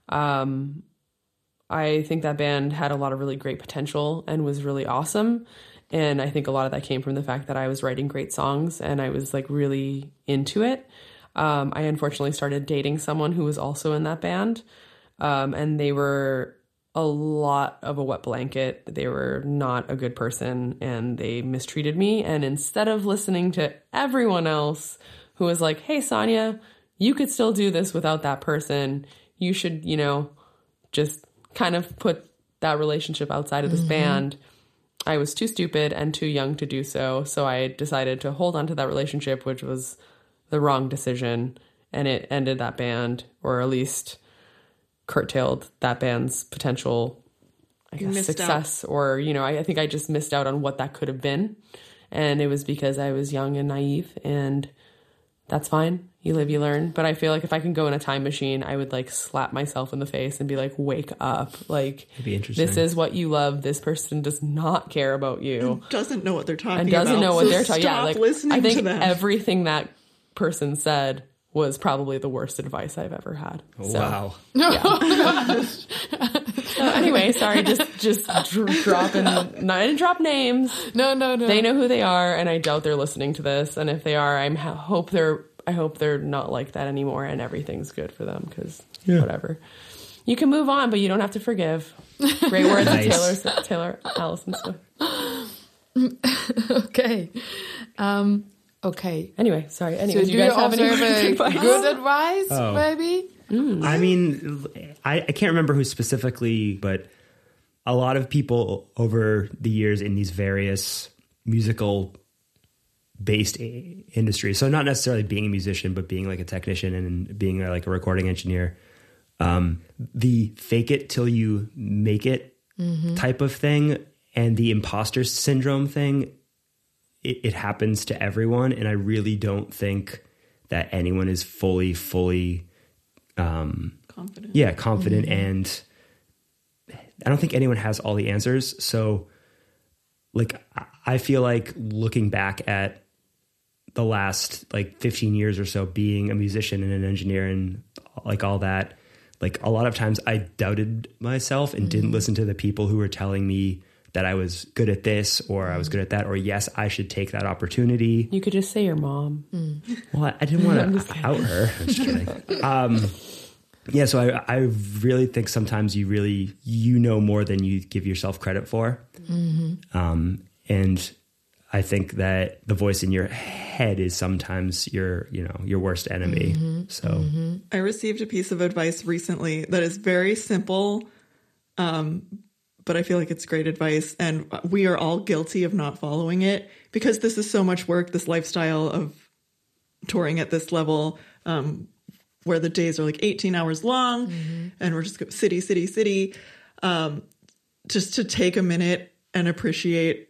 Um, I think that band had a lot of really great potential and was really awesome. And I think a lot of that came from the fact that I was writing great songs and I was like really into it. Um, I unfortunately started dating someone who was also in that band. Um, and they were a lot of a wet blanket. They were not a good person and they mistreated me. And instead of listening to everyone else who was like, hey, Sonia, you could still do this without that person. You should, you know, just kind of put that relationship outside of this Mm-hmm. band. I was too stupid and too young to do so. So I decided to hold on to that relationship, which was the wrong decision. And it ended that band, or at least curtailed that band's potential, I guess, missed success. Or, you know, I, I think I just missed out on what that could have been. And it was because I was young and naive, and that's fine. You live, you learn. But I feel like if I can go in a time machine, I would like slap myself in the face and be like, wake up. Like, It'd be interesting. this is what you love. This person does not care about you Doesn't know what they're talking and doesn't about. know what so they're talking. Yeah, stop like listening I think to them. everything that person said was probably the worst advice I've ever had. So, Wow. so anyway, sorry, just just dr- dropping. No, I didn't drop names. no, no, no. They know who they are, and I doubt they're listening to this. And if they are, I hope they're. I hope they're not like that anymore, and everything's good for them. Because whatever, you can move on, but you don't have to forgive. Great words, Nice. of Taylor Taylor Allison Swift. Okay. Um, okay. Anyway, sorry. So Anyway, do do you you guys have also any have a advice? good advice, Oh. maybe? I mean, I, I can't remember who specifically, but a lot of people over the years in these various musical based i- industries, so not necessarily being a musician, but being like a technician and being a, like a recording engineer, um, the fake it till you make it type of thing and the imposter syndrome thing, it, it happens to everyone. And I really don't think that anyone is fully, fully um, Confident. yeah, confident. And I don't think anyone has all the answers. So like, I- I feel like looking back at the last like fifteen years or so being a musician and an engineer and like all that, like a lot of times I doubted myself and didn't listen to the people who were telling me that I was good at this or I was good at that, or yes, I should take that opportunity. You could just say your mom. Well, I, I didn't want to out her. I'm just kidding. Um, yeah, so I, I really think sometimes you really, you know more than you give yourself credit for. Um, and I think that the voice in your head is sometimes your, you know, your worst enemy. So I received a piece of advice recently that is very simple, um, but I feel like it's great advice. And we are all guilty of not following it because this is so much work, this lifestyle of touring at this level, um, where the days are like eighteen hours long and we're just go city, city, city. Um, just to take a minute and appreciate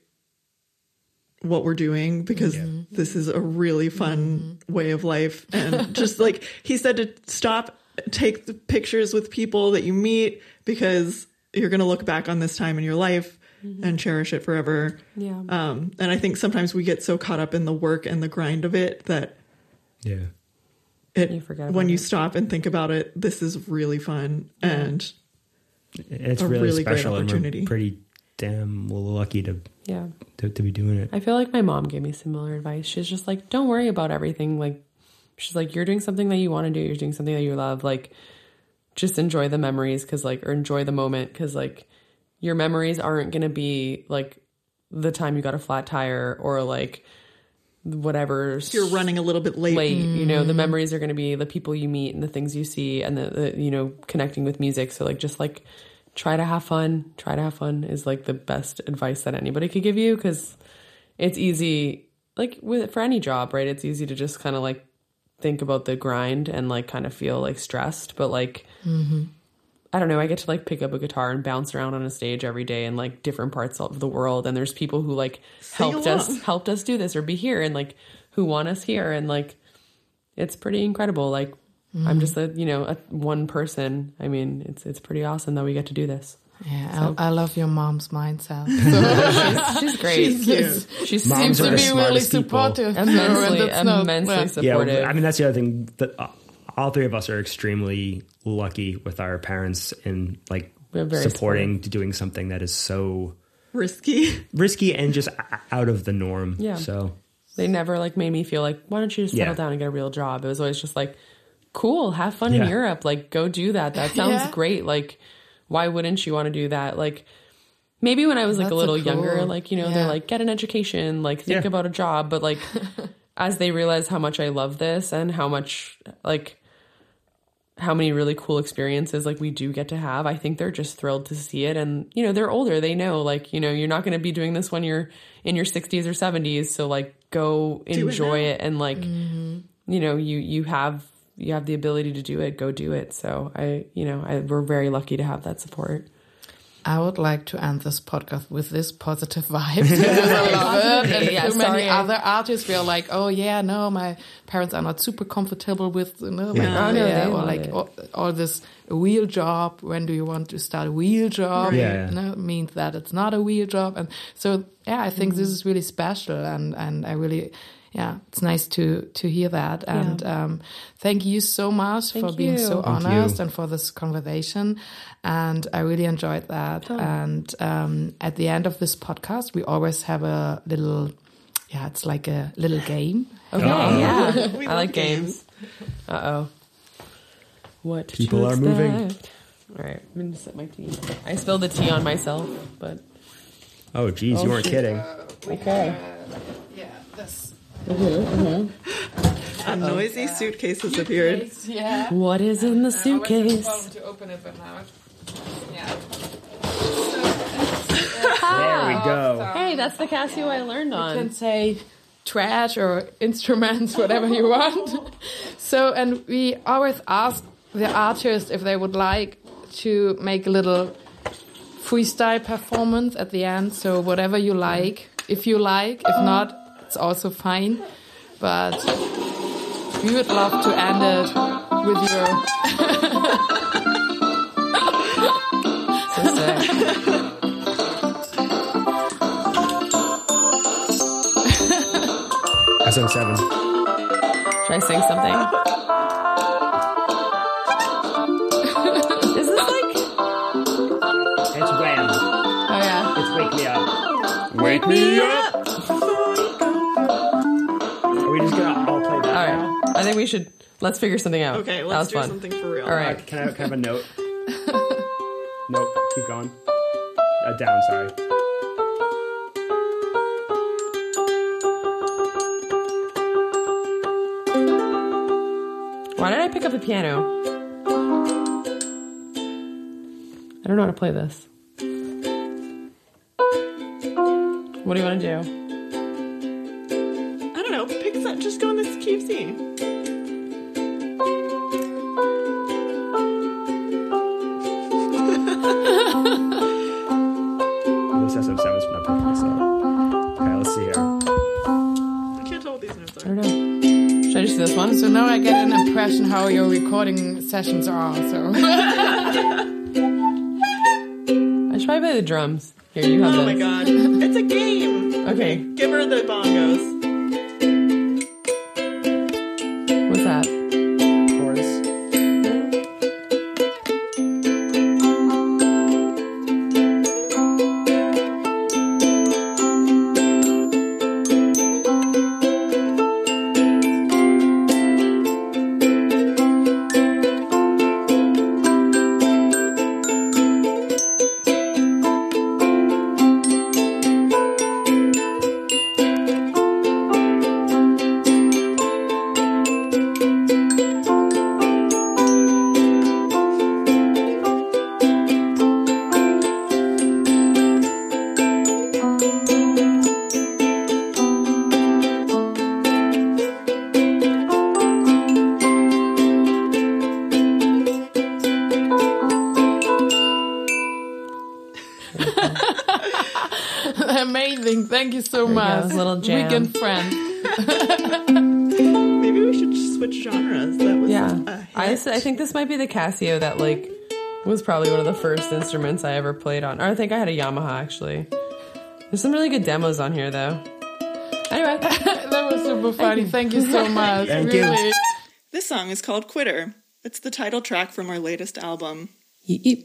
what we're doing because this is a really fun way of life. And just like he said, to stop, take the pictures with people that you meet because you're going to look back on this time in your life and cherish it forever. Yeah. Um, and I think sometimes we get so caught up in the work and the grind of it that yeah. it, You forget about when you it. stop and think about it, this is really fun and It's a really, really great special and opportunity. we're pretty damn lucky to, Yeah. to, to be doing it. I feel like my mom gave me similar advice. She's just like, don't worry about everything. Like, she's like, you're doing something that you want to do. You're doing something that you love. Like, just enjoy the memories because, like, or enjoy the moment because, like, your memories aren't going to be like the time you got a flat tire or like whatever. You're running a little bit late. Late, mm. you know, the memories are going to be the people you meet and the things you see and the, the, you know, connecting with music. So like, just like try to have fun. Try to have fun is like the best advice that anybody could give you, because it's easy, like with for any job, right? It's easy to just kind of like think about the grind and like kind of feel like stressed, but like, mm-hmm. I don't know, I get to like pick up a guitar and bounce around on a stage every day in like different parts of the world. And there's people who like Sing helped along. us, helped us do this or be here and like who want us here. And like, it's pretty incredible. Like mm-hmm. I'm just a, you know, a one person. I mean, it's, it's pretty awesome that we get to do this. Yeah, So- I, I love your mom's mindset. So She's, she's great. she's cute. She's Moms seems are to the be really smartest people. supportive. immensely, And that's not- immensely yeah. supportive. Yeah, I mean, that's the other thing that uh, all three of us are extremely lucky with our parents in like We're very supporting to doing something that is so Risky. risky and just o- out of the norm. Yeah. So They never like made me feel like, why don't you just settle Yeah. down and get a real job? It was always just like, cool, have fun in Yeah. Europe. Like, go do that. That sounds Yeah. great. Like, why wouldn't you want to do that? Like, maybe when I was like That's a little so cool. younger, like, you know, Yeah. they're like, get an education, like, think Yeah. about a job. But like, as they realize how much I love this and how much, like, how many really cool experiences like we do get to have, I think they're just thrilled to see it. And, you know, they're older. They know, like, you know, you're not going to be doing this when you're in your sixties or seventies. So like, go it enjoy now. it. And like, you know, you, you have, you have the ability to do it, go do it. So I, you know, I, we're very lucky to have that support. I would like to end this podcast with this positive vibe. Because I love it. And Yeah, too many sorry. other artists feel like, oh yeah, no, my parents are not super comfortable with, you know, my Yeah. Oh, no, career, they or love like it. all, all this a wheel job. When do you want to start a wheel job? Right. Yeah, yeah. No, it means that it's not a wheel job. And so, yeah, I think Mm-hmm. this is really special, and and I really. Yeah, it's nice to to hear that, and um, thank you so much Thank for being you. so Thank honest you. and for this conversation. And I really enjoyed that. And um, at the end of this podcast, we always have a little, yeah, it's like a little game. Okay. Uh-oh. Yeah. We I love like games. games. Uh oh. What? People to are moving. expect? All right. I'm going to sip my tea. I spilled the tea on myself, but Oh, geez, you weren't kidding. okay. Yeah, this. A noisy suitcase has appeared. Yeah. What is in the suitcase? to open it, but now, yeah. There we go. Hey, that's the Casio I learned You on. can say trash or instruments, whatever you want. So, and we always ask the artist if they would like to make a little freestyle performance at the end. So whatever you like, if you like, if not, it's also fine. But we would love to end it with your So sick. S N seven. Should I sing something? Is this like? It's Wham. Oh yeah. It's Wake Me Up. Wake Me Up. Are we just gonna all play that? All now? right. I think we should. Let's figure something out. Okay, That let's was do fun. something for real. All right. Can I, can I have a note? Nope. Keep going. Uh, down. Sorry. Why did I pick up the piano? I don't know how to play this. What do you want to do? I don't know. Pick that. Just go in this key of C. This S M seven's not picking this up. Okay, let's see here. I can't tell what these notes I are. don't know. Should I just do this one? So now I get an impression how your recording sessions are. So I should probably play the drums. Here, you have Oh this. my god. It's a game. Okay. Give her the bongos. What's that? Chorus. Amazing. Thank you so There you much. go, little jam. Weekend friend. Maybe we should switch genres. That was Yeah. a I, hit. I think this might be the Casio that, like, was probably one of the first instruments I ever played on. Or I think I had a Yamaha, actually. There's some really good demos on here, though. Anyway. That was super funny. Thank you, Thank you so much. Thank you. really. This song is called Quitter. It's the title track from our latest album. Yeep, yeep.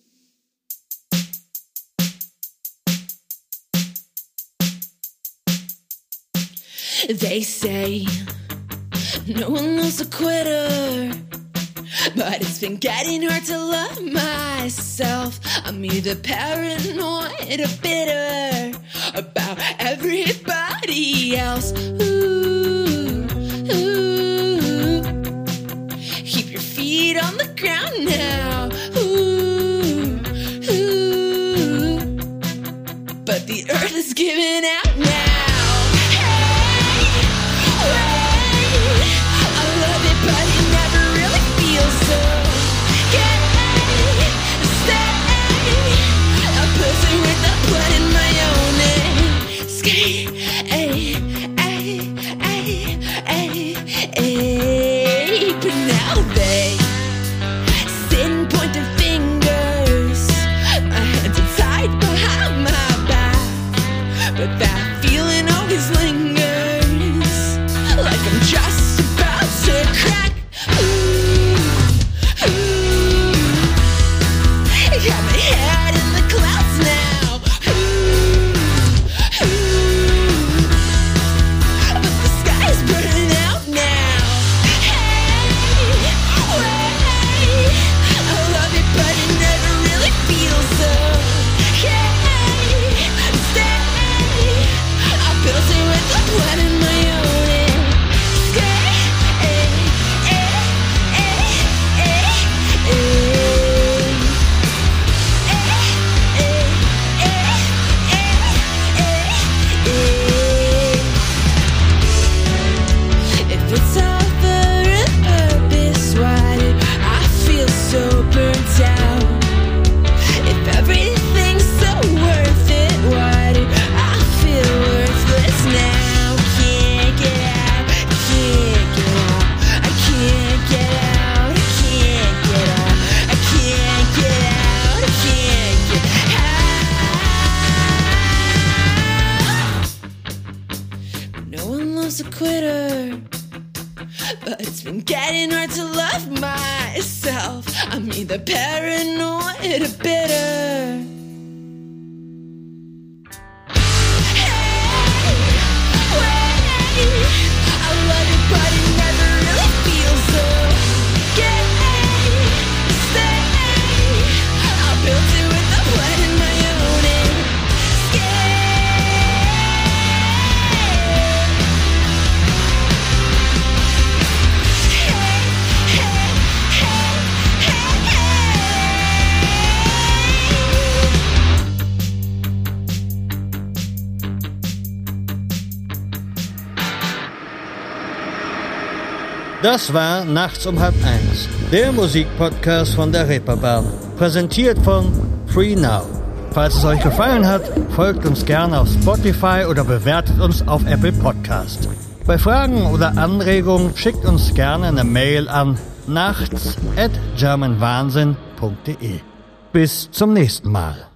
They say no one loves a quitter, but it's been getting hard to love myself. I'm either paranoid or bitter about everybody else. Ooh, ooh. Keep your feet on the ground now. Ooh, ooh. But the earth is giving out now. A quitter, but it's been getting hard to love myself. I'm either paranoid or bitter. Hey, wait, I love you, but it never really feels so gay. Stay, I built it with a plan in my own escape. Das war Nachts um halb eins, der Musikpodcast von der Reeperbahn, präsentiert von Free Now. Falls es euch gefallen hat, folgt uns gerne auf Spotify oder bewertet uns auf Apple Podcast. Bei Fragen oder Anregungen schickt uns gerne eine Mail an nachts at german wahnsinn punkt de. Bis zum nächsten Mal.